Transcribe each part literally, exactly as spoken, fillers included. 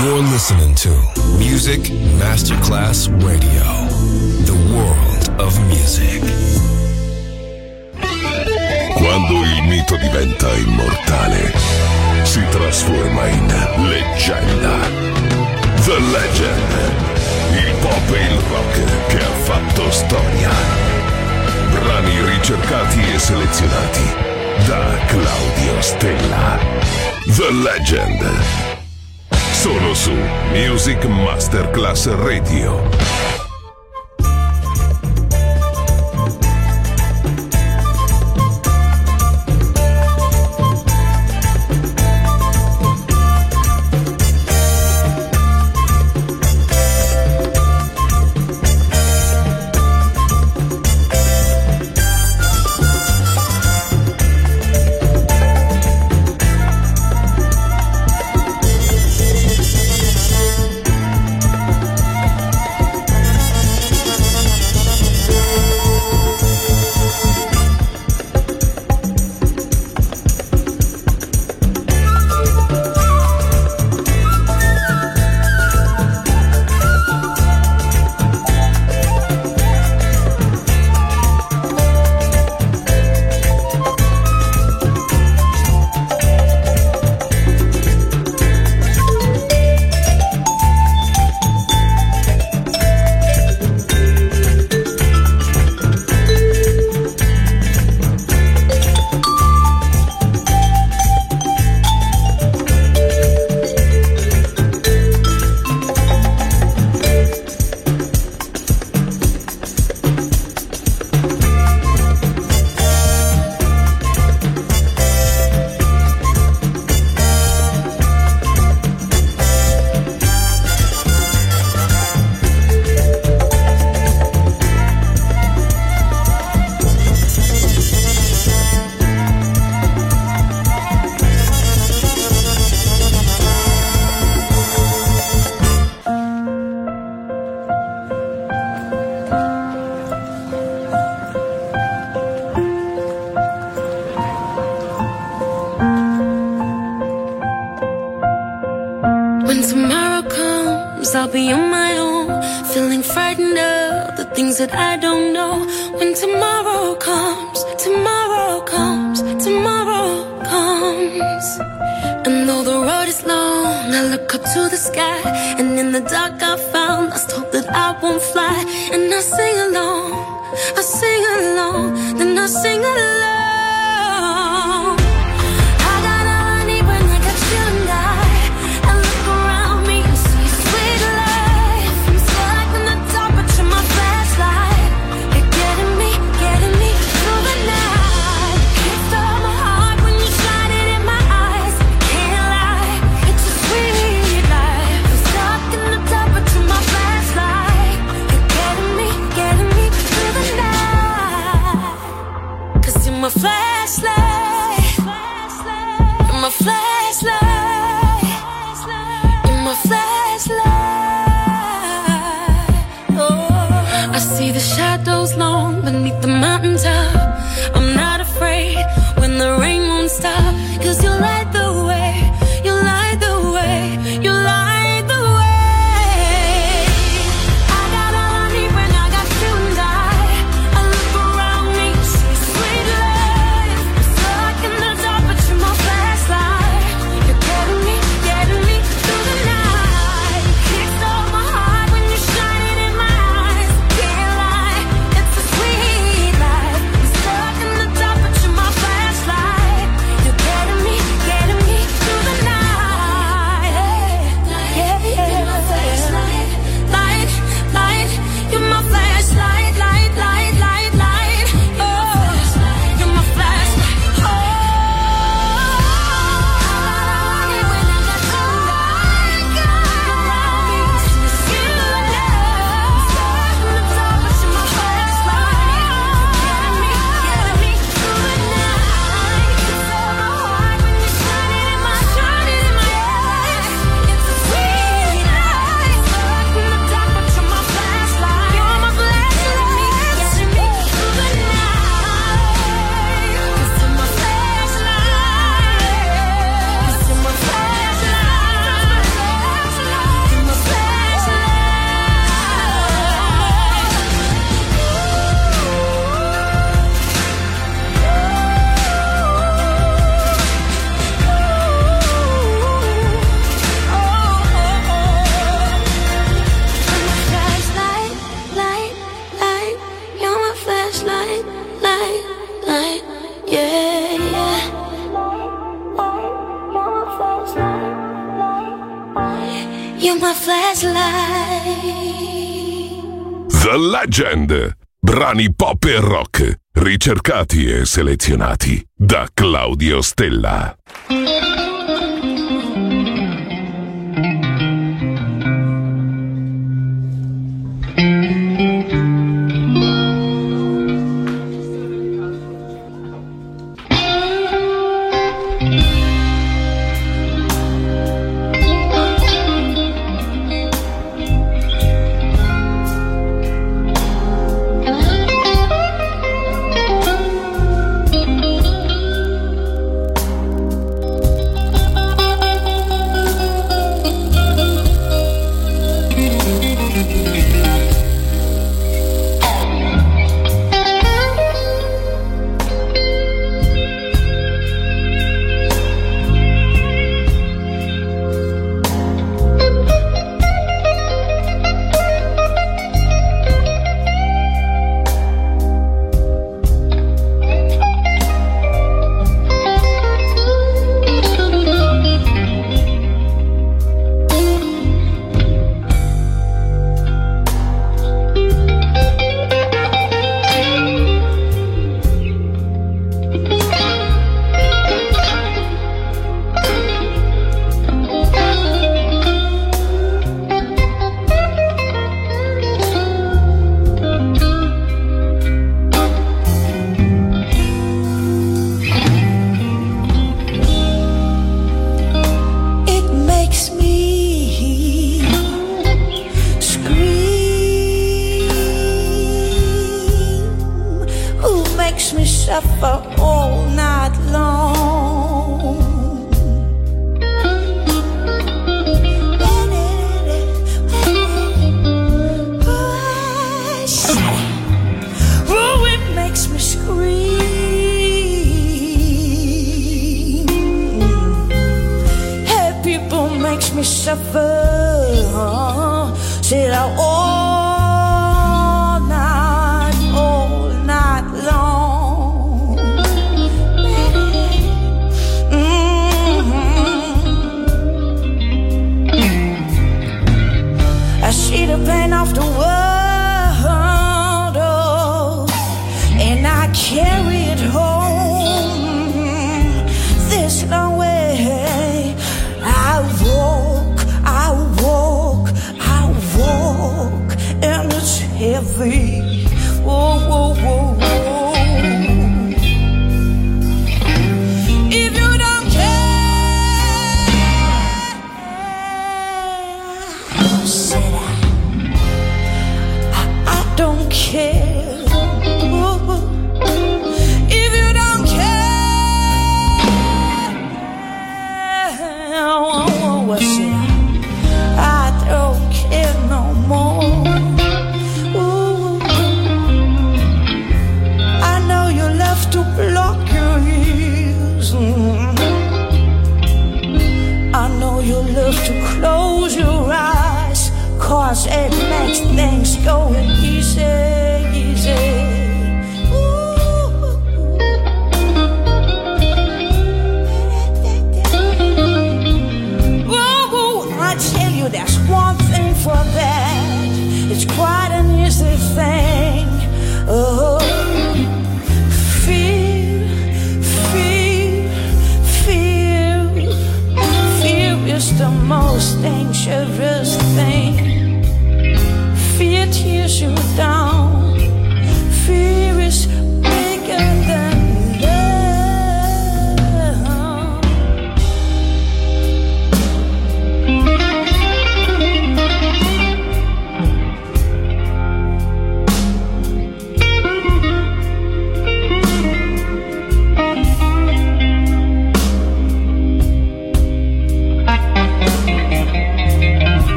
You're listening to Music Masterclass Radio, the world of music. Quando il mito diventa immortale, si trasforma in leggenda. The Legend, il pop e il rock che ha fatto storia. Brani ricercati e selezionati da Claudio Stella. The Legend, solo su Music Masterclass Radio. That I don't know when tomorrow comes, tomorrow comes, tomorrow comes. And though the road is long, I look up to the sky, and in the dark I found lost hope that I won't fly. And I sing along, I sing along, then I sing along. I got all I need when I got you and I. I look around me and see sweet life. I'm stuck in the dark, but you're my flashlight. You're getting me, getting me through the night. Can't stop my heart when you shine it in my eyes. Can't lie, it's a sweet life. I'm stuck in the dark, but you're my flashlight. You're getting me, getting me through the night. 'Cause you're my You're my flashlight. The Legend. Brani pop e rock, ricercati e selezionati da Claudio Stella.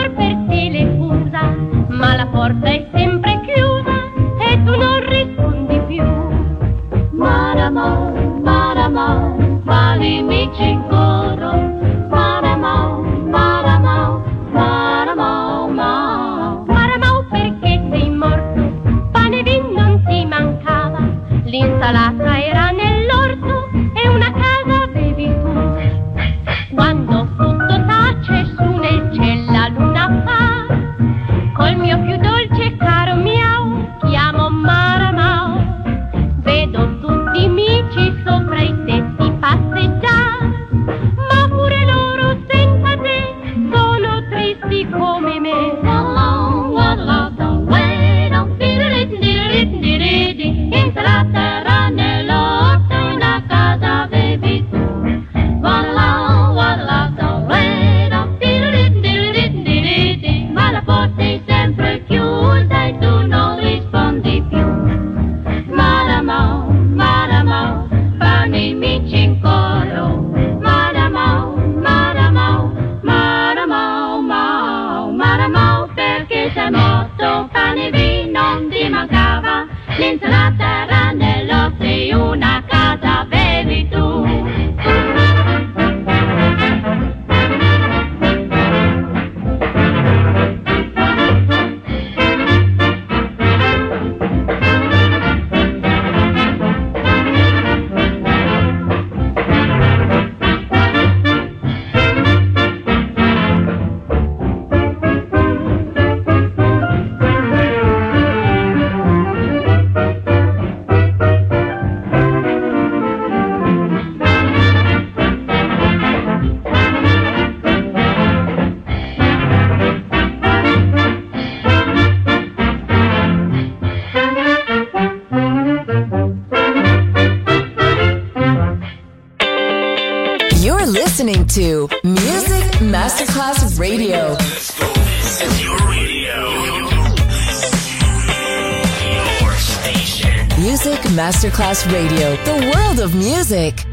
amor per te le usa, ma la porta è sempre chiusa e tu non rispondi più. Maramo, Maramo, quali amici in coro. Maramo, Maramo, Maramo, Maramo. Maramo perché sei morto, pane e vino non ti mancava, l'insalata era nell'orto e una casa avevi tu. Quando tutto tace su nel cielo la luna fa, col mio più dolce e caro miau chiamo Maramau. Vedo tutti i mici sopra i tetti passeggiare, ma pure loro senza te sono tristi come me. Insalata era nell'orto, una casa avevi tu. Ma la porta è sempre chiusa e tu non rispondi più. Maramo, Maramo, fanno i mici in coro. Maramo, Maramo, Maramo, Maramo, Maramo, perché sei morto, pane e vino non ti mancava, l'insalata era nell'orto e una casa avevi tu. You're listening to Music Masterclass Radio. This is your radio. Your station. Music Masterclass Radio. The world of music.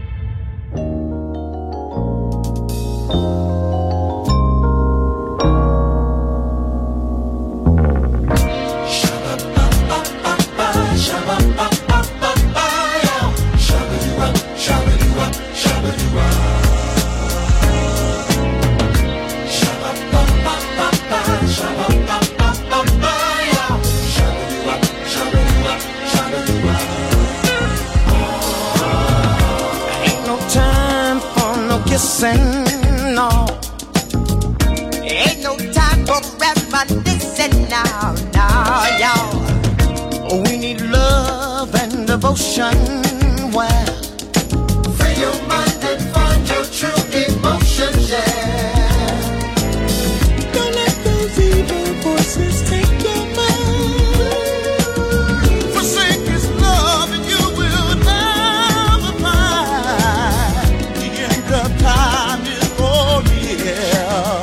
No, ain't no time for reminiscing now, now, y'all. We need love and devotion. Where free your mind and find your true emotions, yeah. Don't let those evil voices take your mind. Forsake His love and you will never find the end of time is for real.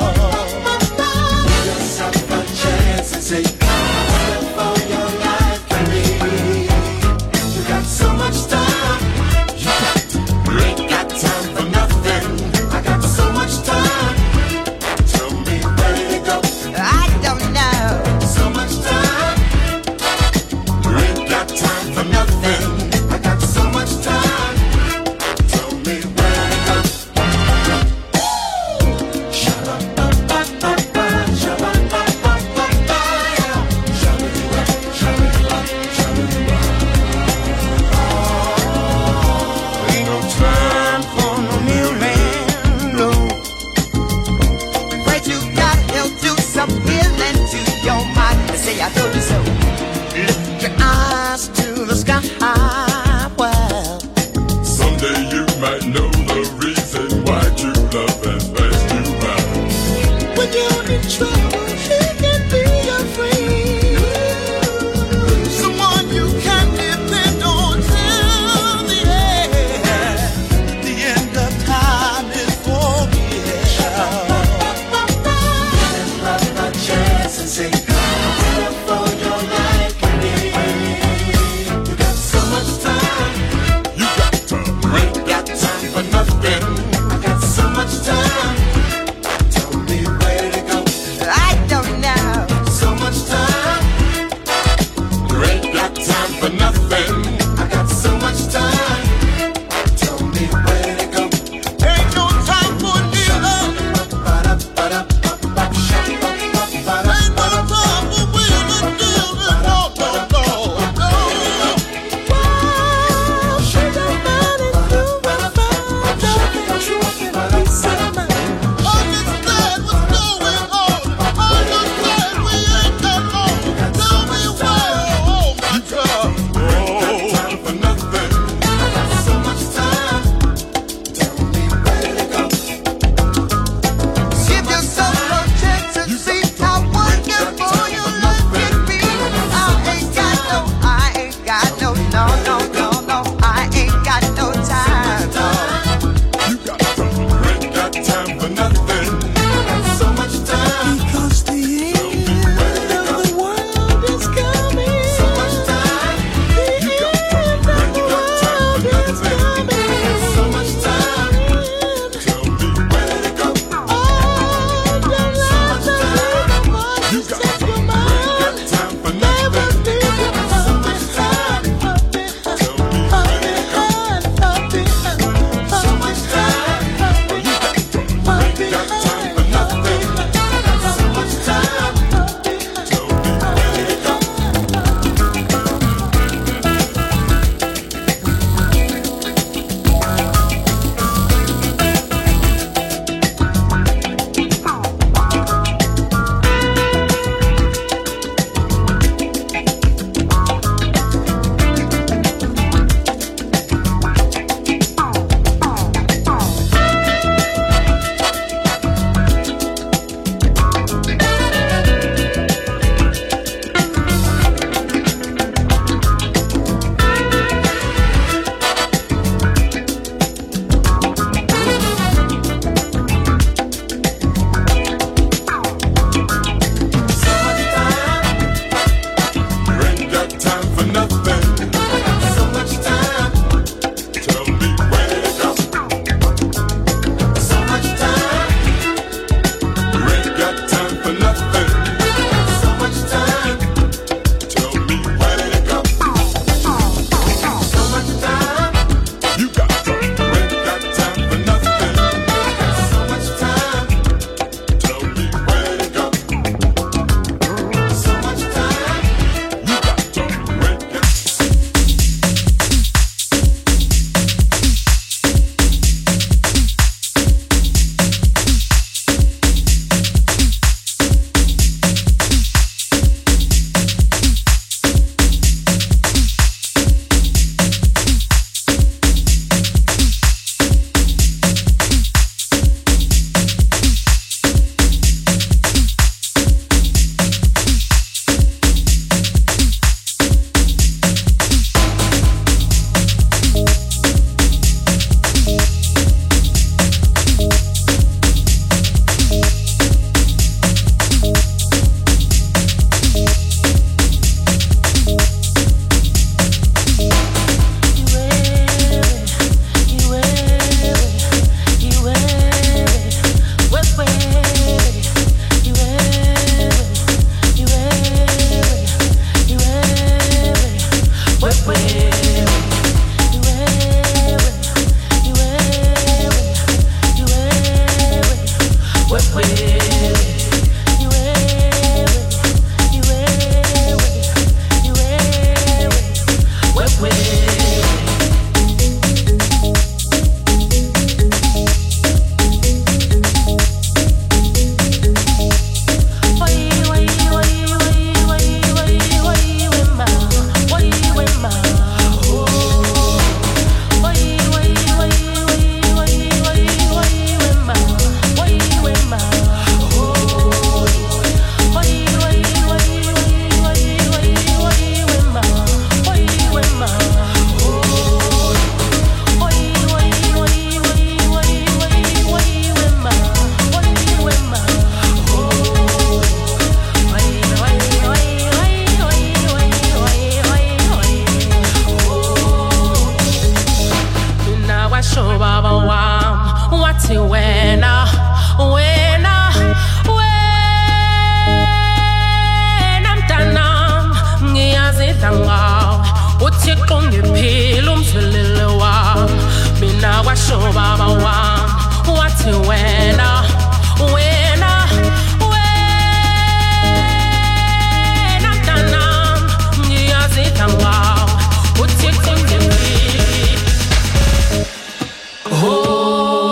Just have a chance and say, for your life can be. You got so much time. ungiphila umzwilile wami mina kwasho baba wami wathi wena wena wena mntanami ngiyazidla ngawe uthi ungiphila oh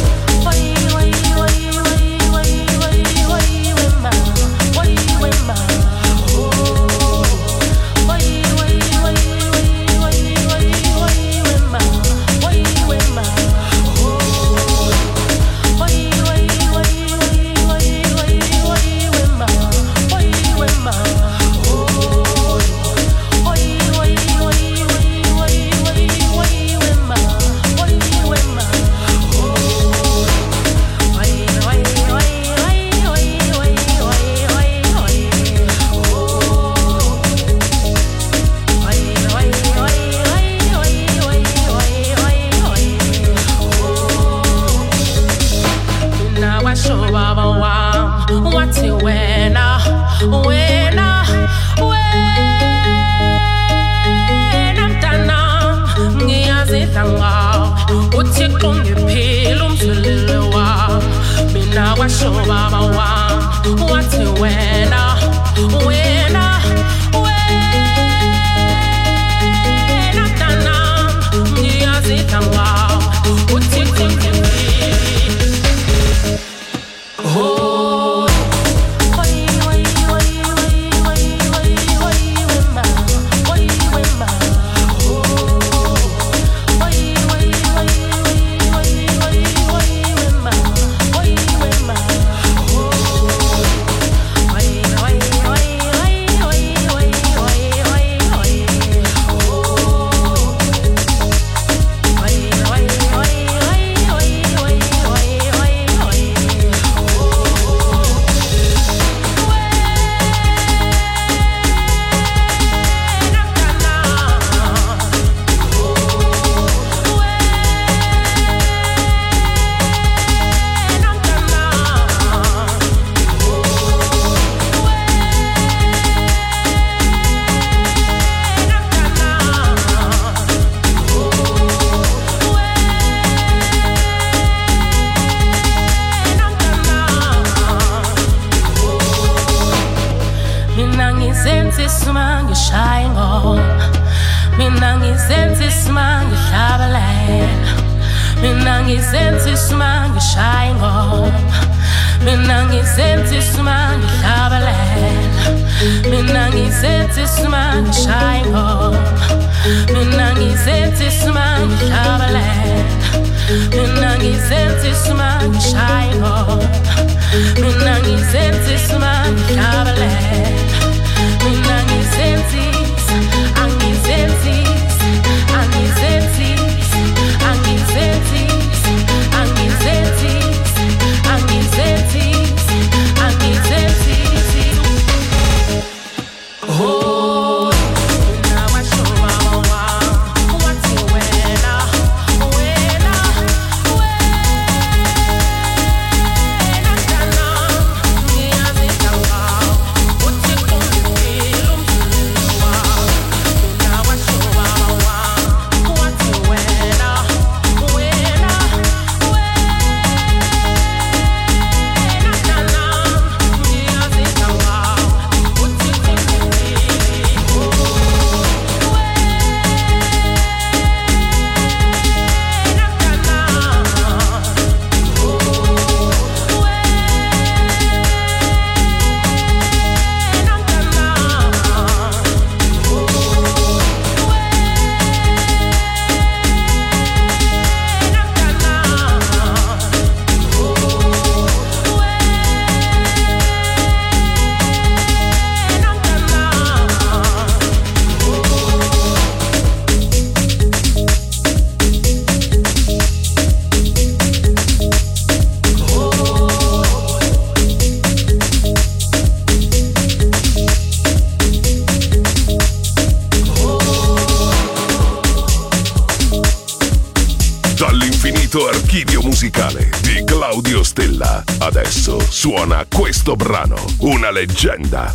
Dall'infinito archivio musicale di Claudio Stella, adesso suona questo brano, una leggenda.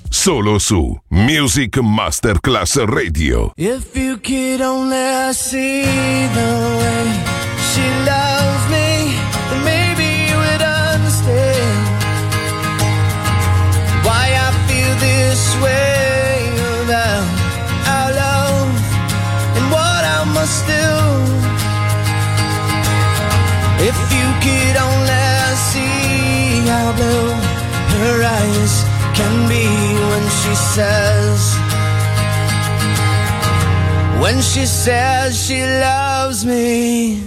solo su Music Masterclass Radio. If you could only see the way she loves me, then maybe you would understand why I feel this way about our love and what I must do. If you could only see how blue her eyes can be when she says, when she says she loves me.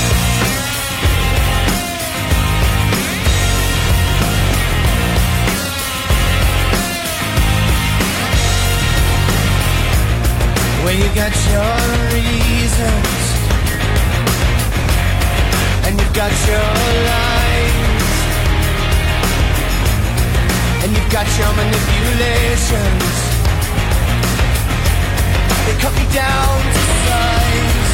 Well, you got your reasons and you've got your lies and you've got your manipulations. They cut me down to size.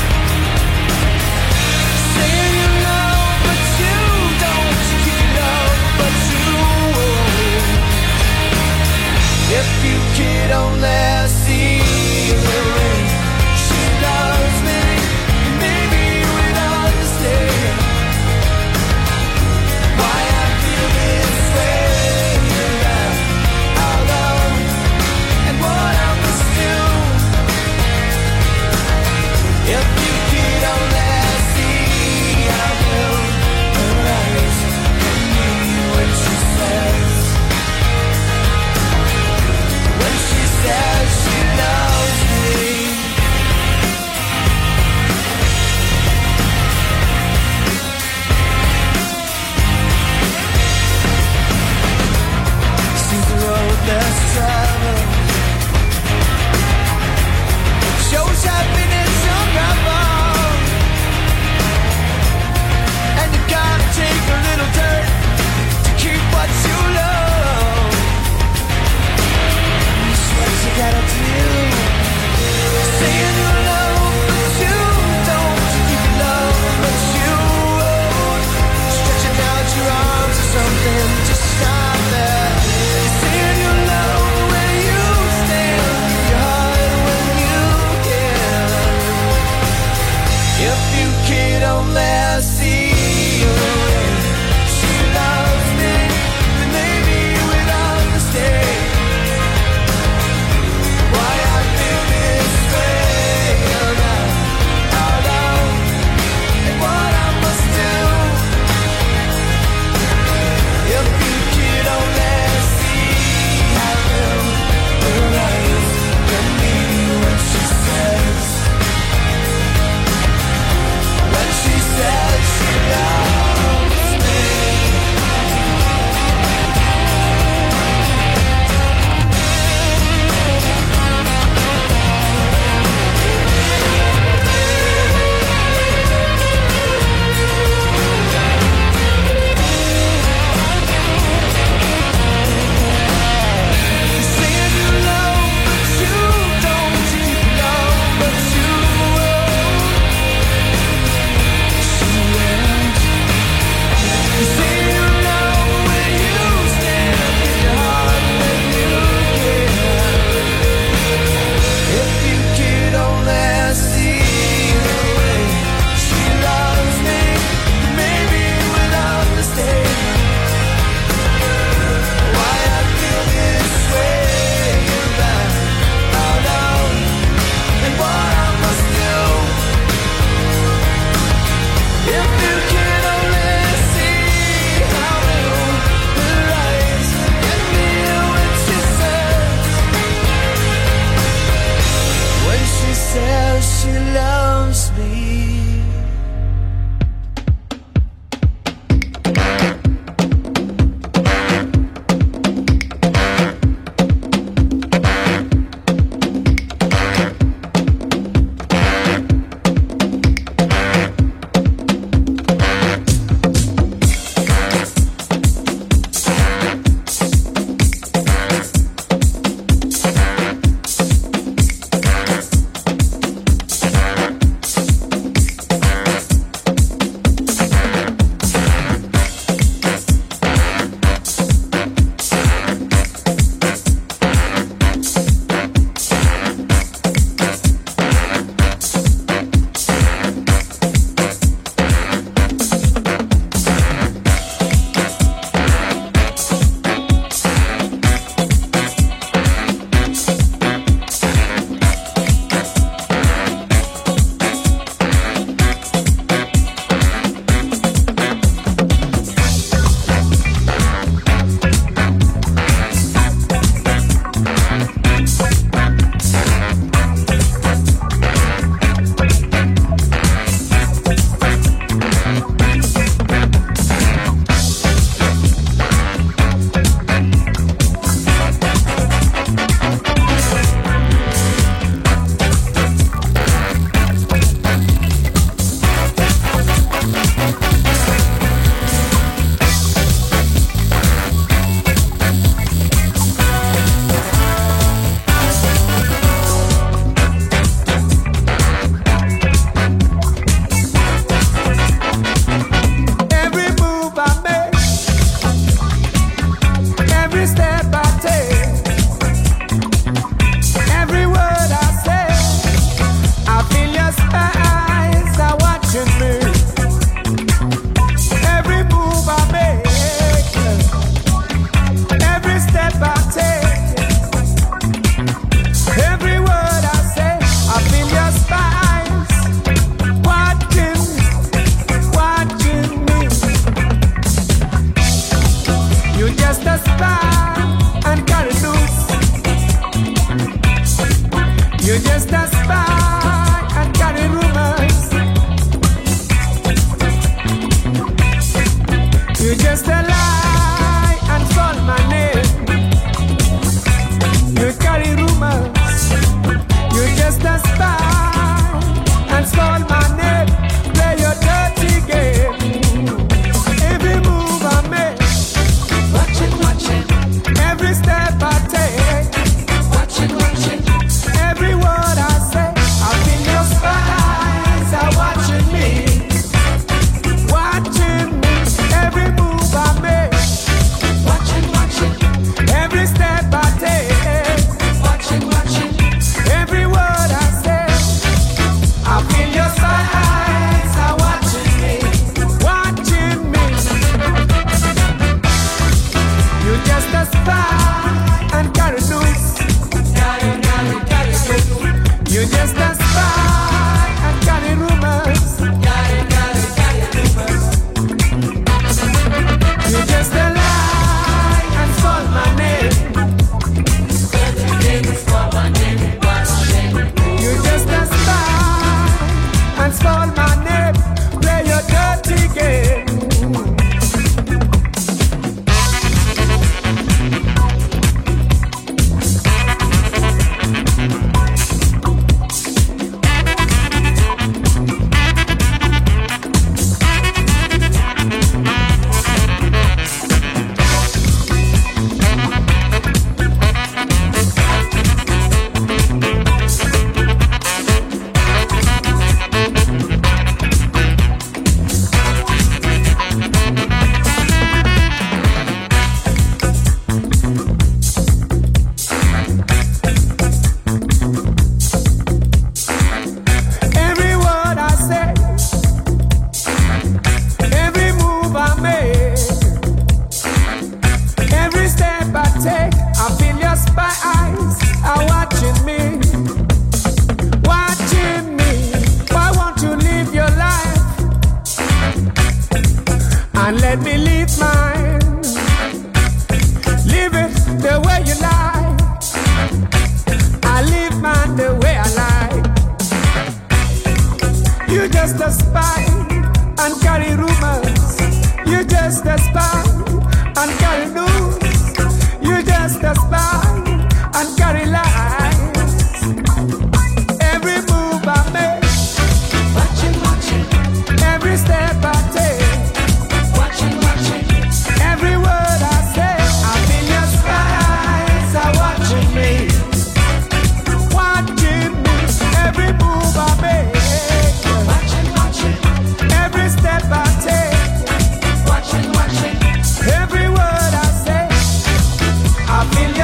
Saying you love, but you don't. You love, but you won't. If you could only see the way she loves me, maybe you would understand why I feel this way about our love and what I must do. If you could only see how blue her eyes can be when she says, when she says she loves me. Seems the road less traveled shows happiness unraveled, and you gotta take a little dirt to keep what you love. That's what you gotta do. Saying you love, but you don't. You love, but you won't. Stretching out your arms or something to stop that. Saying you love when you stand, your heart when you can. If you could only see the way she loves me, then maybe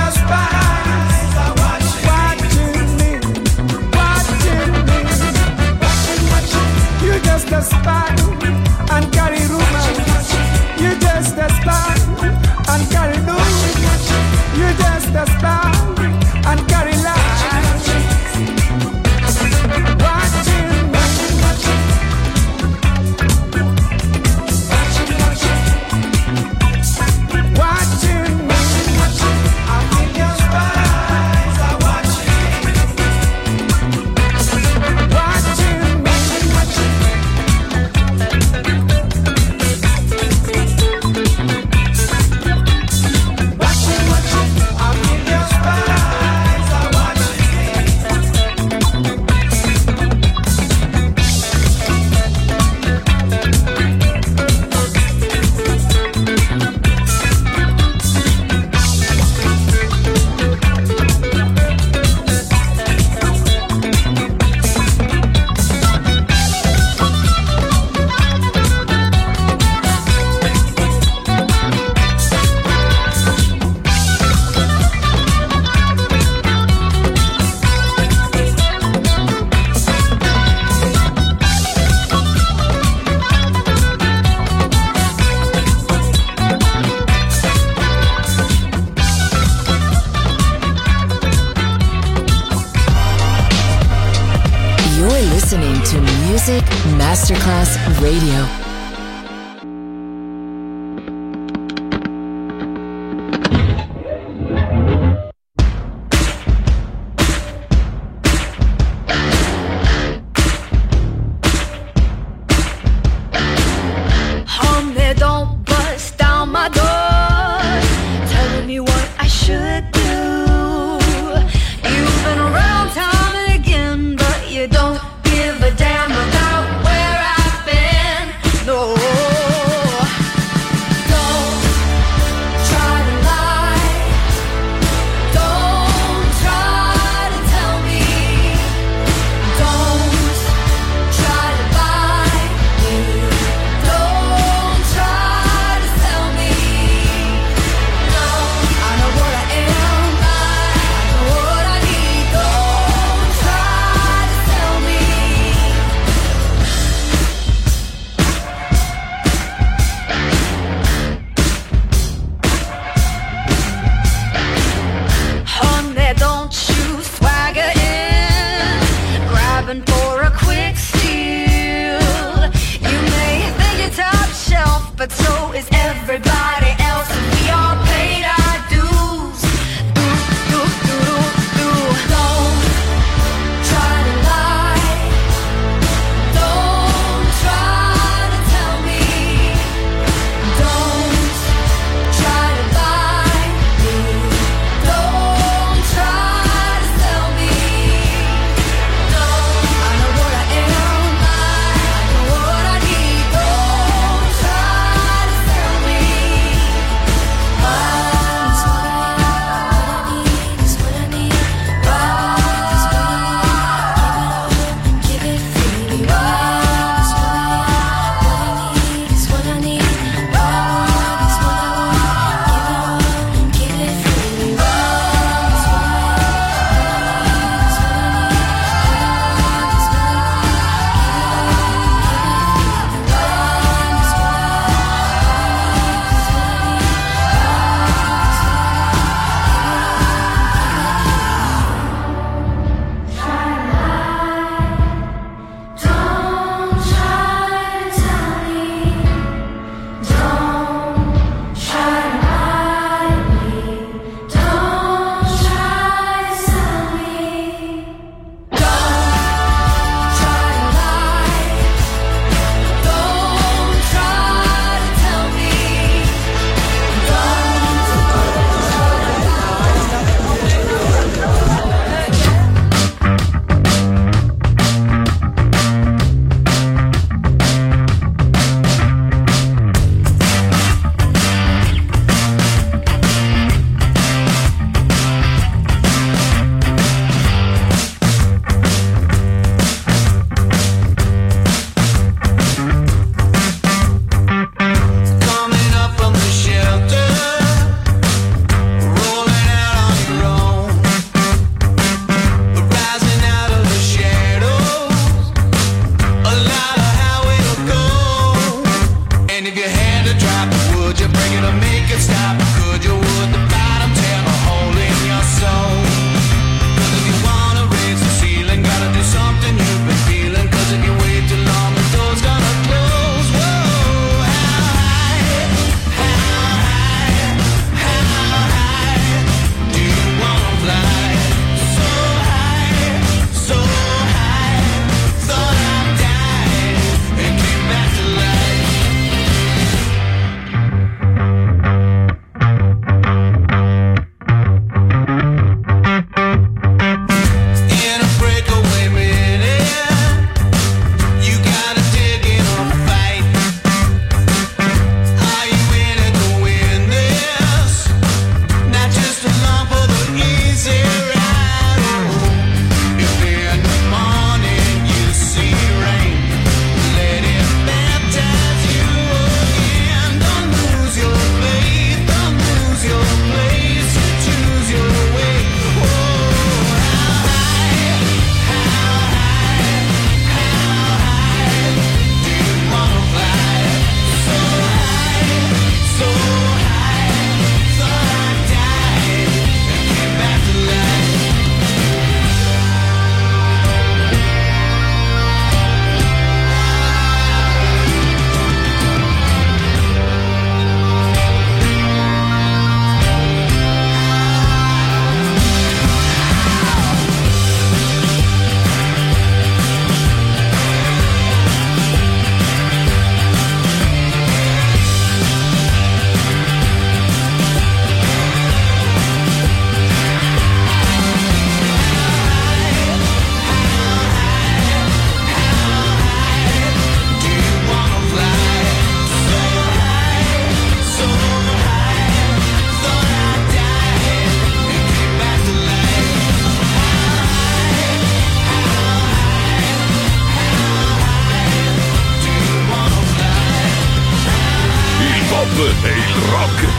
your spies are watching me, watching me. You just a spy and carry rumors. You just a spy and carry news. You just a spy and carry lies. Watching me, watching me. I think your spies are watching me, watching me. Watching, watching. I think your spies are watching me. You're listening to Music Masterclass Radio. Homie, don't bust down my door, telling me what I should do. You've been around time and again, but you don't give a damn about where I've been. No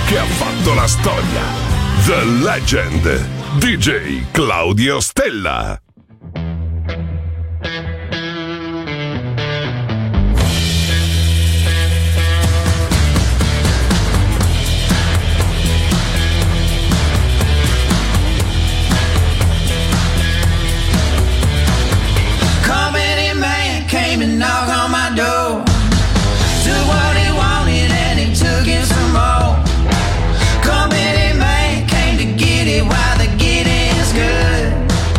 che ha fatto la storia. The Legend, D J Claudio Stella. Knock on my door, took what he wanted and he took it some more. Company man came to get it while the getting is good.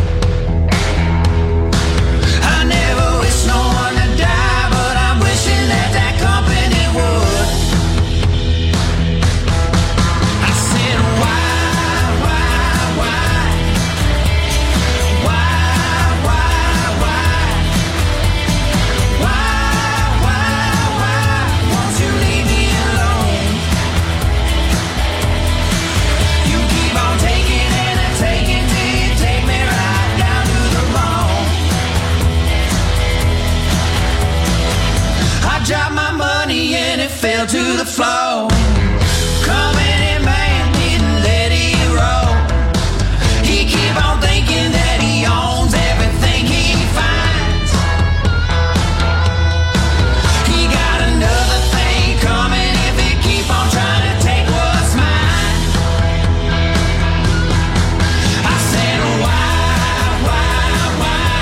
I never wish no one to die, but I'm wishing that that company would. I said why, why, why, why, why, why? Dropped my money and it fell to the floor. Company man didn't let it roll. He keep on thinking that he owns everything he finds. He got another thing coming if he keep on trying to take what's mine. I said why, why, why,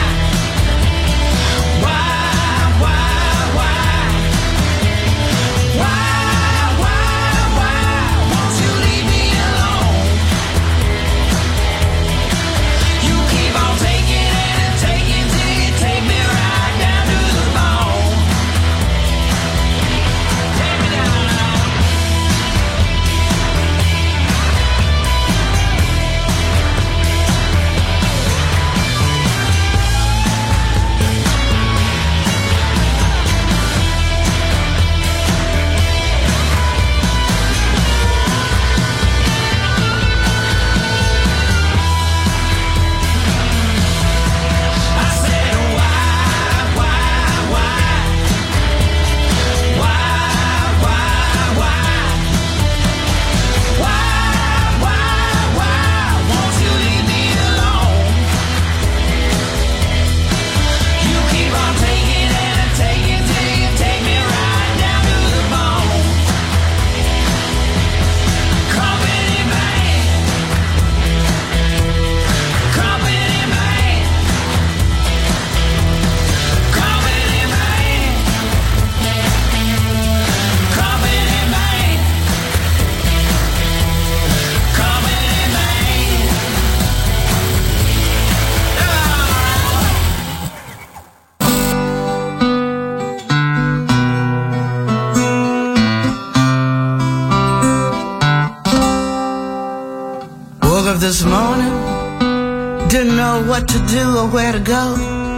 why, why, why? Why, why, why won't you leave me alone? You keep on taking and taking till you take me right down to the bone. Take me down. I said why, why, why, why, why, why, why, why, why won't you leave me alone? You keep on taking and taking till you take me right down to the bone. Company man, company man, company man, company man, company man. Woke up this morning, didn't know what to do or where to go.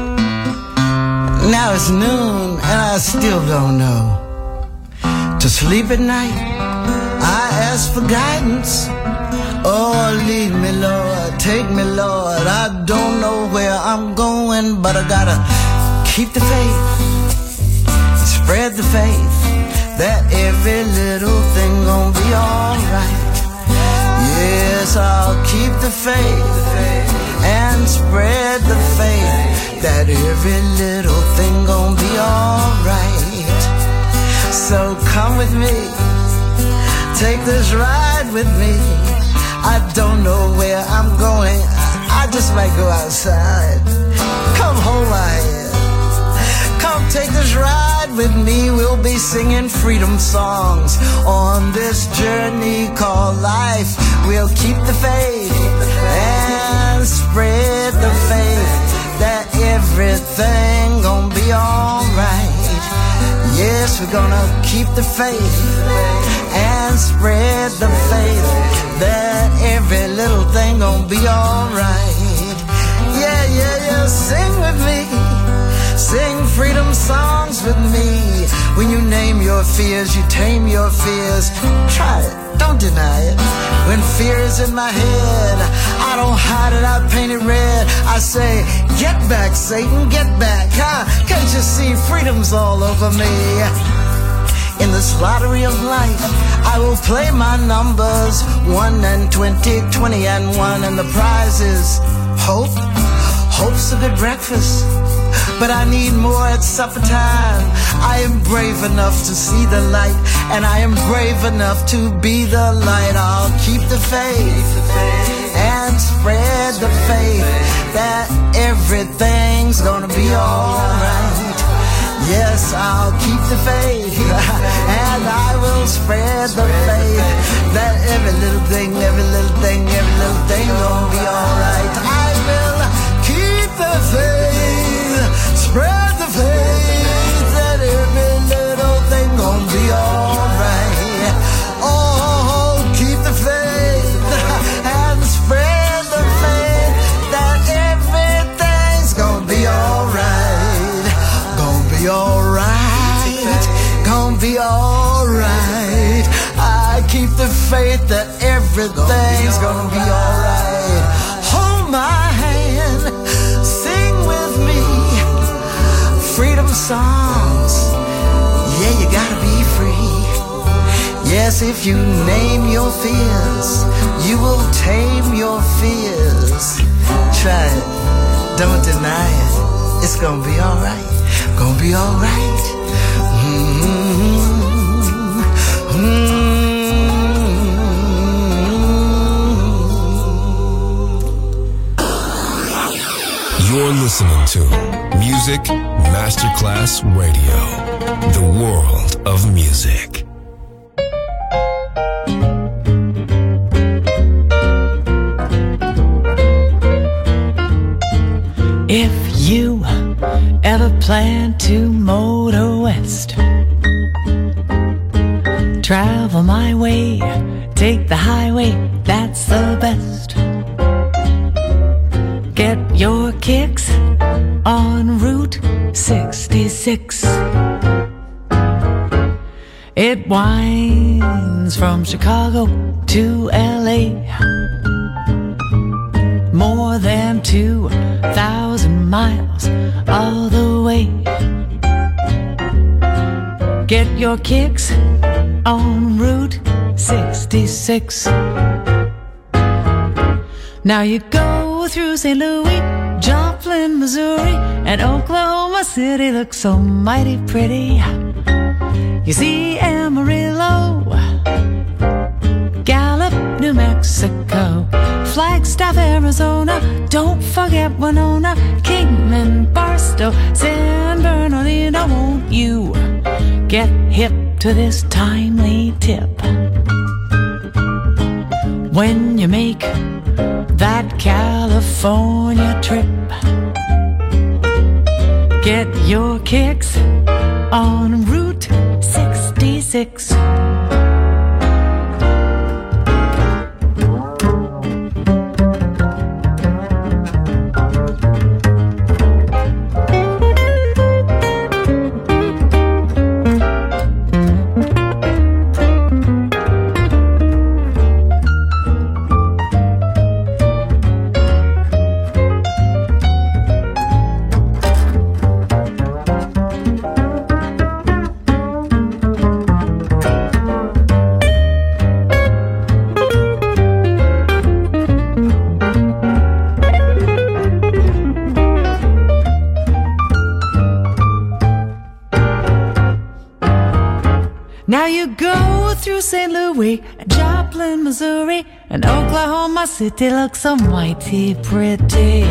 Now it's noon and I still don't know. To sleep at night, I ask for guidance. Oh, lead me, Lord, take me, Lord. I don't know where I'm going, but I gotta keep the faith, spread the faith, that every little thing gon' be alright. Yes, I'll keep the faith and spread the faith that every little thing gon' be alright. So come with me, take this ride with me. I don't know where I'm going, I just might go outside. Come hold my hand, come take this ride with me. We'll be singing freedom songs on this journey called life. We'll keep the faith and spread the faith that everything gon' be alright. Yes, we're gonna keep the faith and spread the faith that every little thing gon' be alright. Yeah, yeah, yeah, sing with me. Sing freedom songs with me. When you name your fears, you tame your fears. Try it, don't deny it. When fear is in my head, I don't hide it, I paint it red. I say, get back, Satan, get back. Huh? Can't you see freedom's all over me? In this lottery of life, I will play my numbers, one and twenty, twenty and one, and the prize is hope. Hope's a good breakfast, but I need more at supper time. I am brave enough to see the light, and I am brave enough to be the light. I'll keep the faith and spread the faith that everything's gonna be alright. Yes, I'll keep the faith and I will spread the faith that every little thing, every little thing, every little thing gonna be alright. I will keep the faith, spread the faith that every little thing gonna be alright. Oh, keep the faith and spread the faith that everything's gonna be alright. Gonna be alright, gonna be alright. I keep the faith that everything's gonna be alright. Hold my hand, sing with me, freedom songs. Yeah, you gotta be free. Yes, if you name your fears, you will tame your fears. Try it, don't deny it. It's gonna be alright. Gonna be alright. Mm-hmm. Mm-hmm. You're listening to Music Masterclass Radio, the world of music. If you ever plan to motor west, travel my way, take the highway, that's the best. Get your kicks on Route sixty-six. It winds from Chicago to L A, more than two thousand miles all the way. Get your kicks on Route sixty-six. Now you go through Saint Louis, Joplin, Missouri, and Oklahoma City looks so mighty pretty. You see Amarillo, Gallup, New Mexico, Flagstaff, Arizona, don't forget Winona, Kingman, Barstow, San Bernardino. Won't you get hip to this timely tip? When you make that California trip, get your kicks on Route sixty-six. Now you go through Saint Louis, and Joplin, Missouri, and Oklahoma City looks so mighty pretty.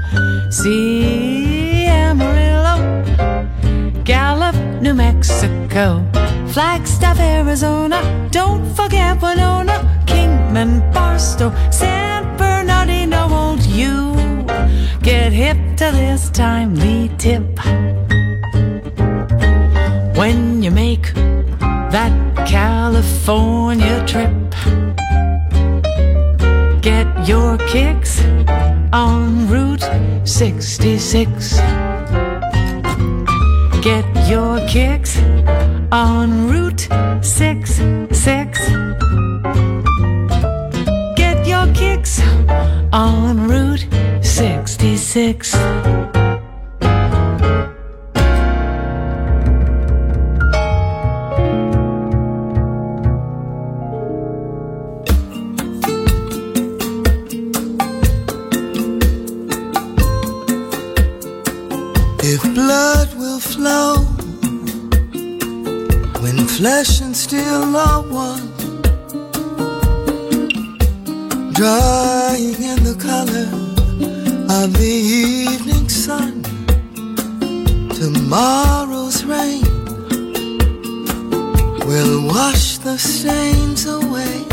See Amarillo, Gallup, New Mexico, Flagstaff, Arizona, don't forget Winona, Kingman, Barstow, San Bernardino. Won't you get hip to this timely tip? When you make that California trip, get your kicks on Route sixty-six. Get your kicks on Route sixty-six. Get your kicks on Route sixty-six. If blood will flow when flesh and steel are one, drying in the color of the evening sun, tomorrow's rain will wash the stains away,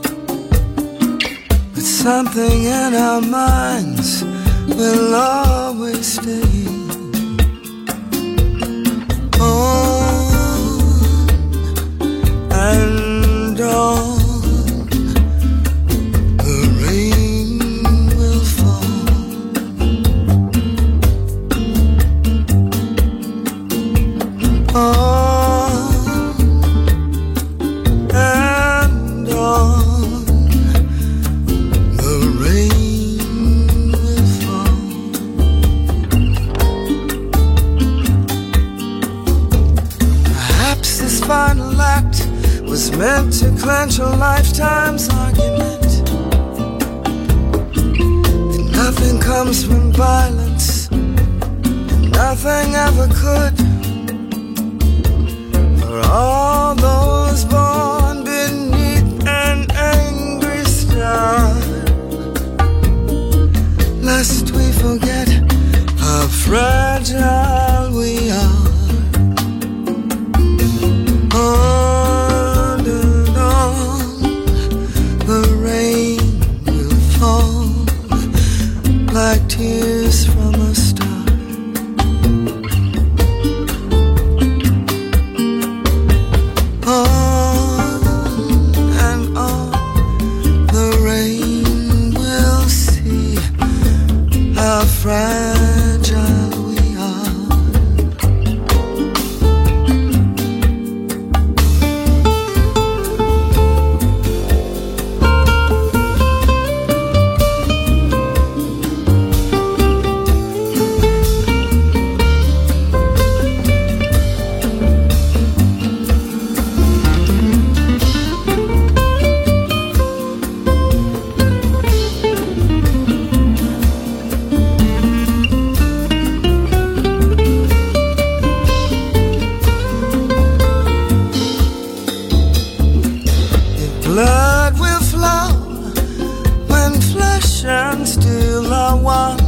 but something in our minds will always stay. On and on, the rain will fall. On and on, the rain will fall. Perhaps this final act was meant to clench a lifetime's argument. That nothing comes from violence, and nothing ever could. For all those born beneath an angry star, lest we forget how fragile we are. On and on, the rain will fall like tears from a star. On and on, the rain will see how fragile we are. Blood will flow when flesh and steel are one,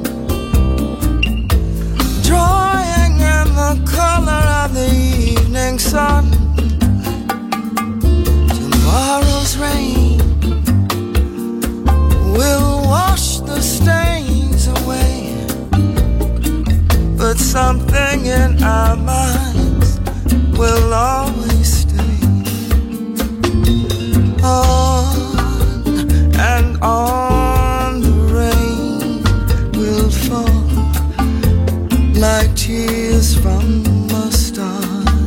drawing in the color of the evening sun. Tomorrow's rain will wash the stains away, but something in our minds will always stay. On and on, the rain will fall like tears from a star.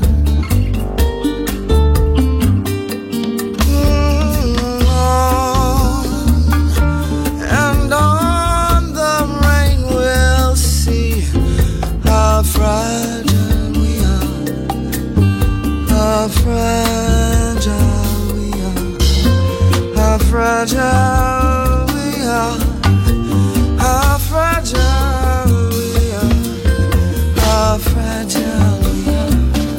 Mm, on and on, the rain will see how fragile we are, how fragile. How fragile we are, how fragile we are, how fragile we are.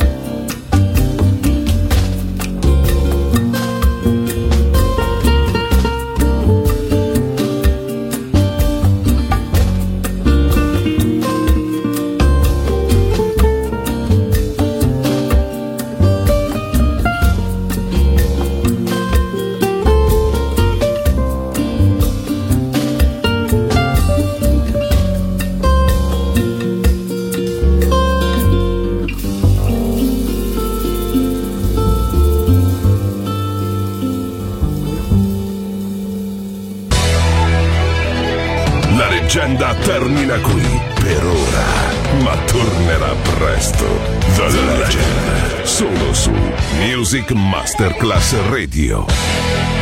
La leggenda termina qui per ora, ma tornerà presto. The Legend, solo su Music Masterclass Radio.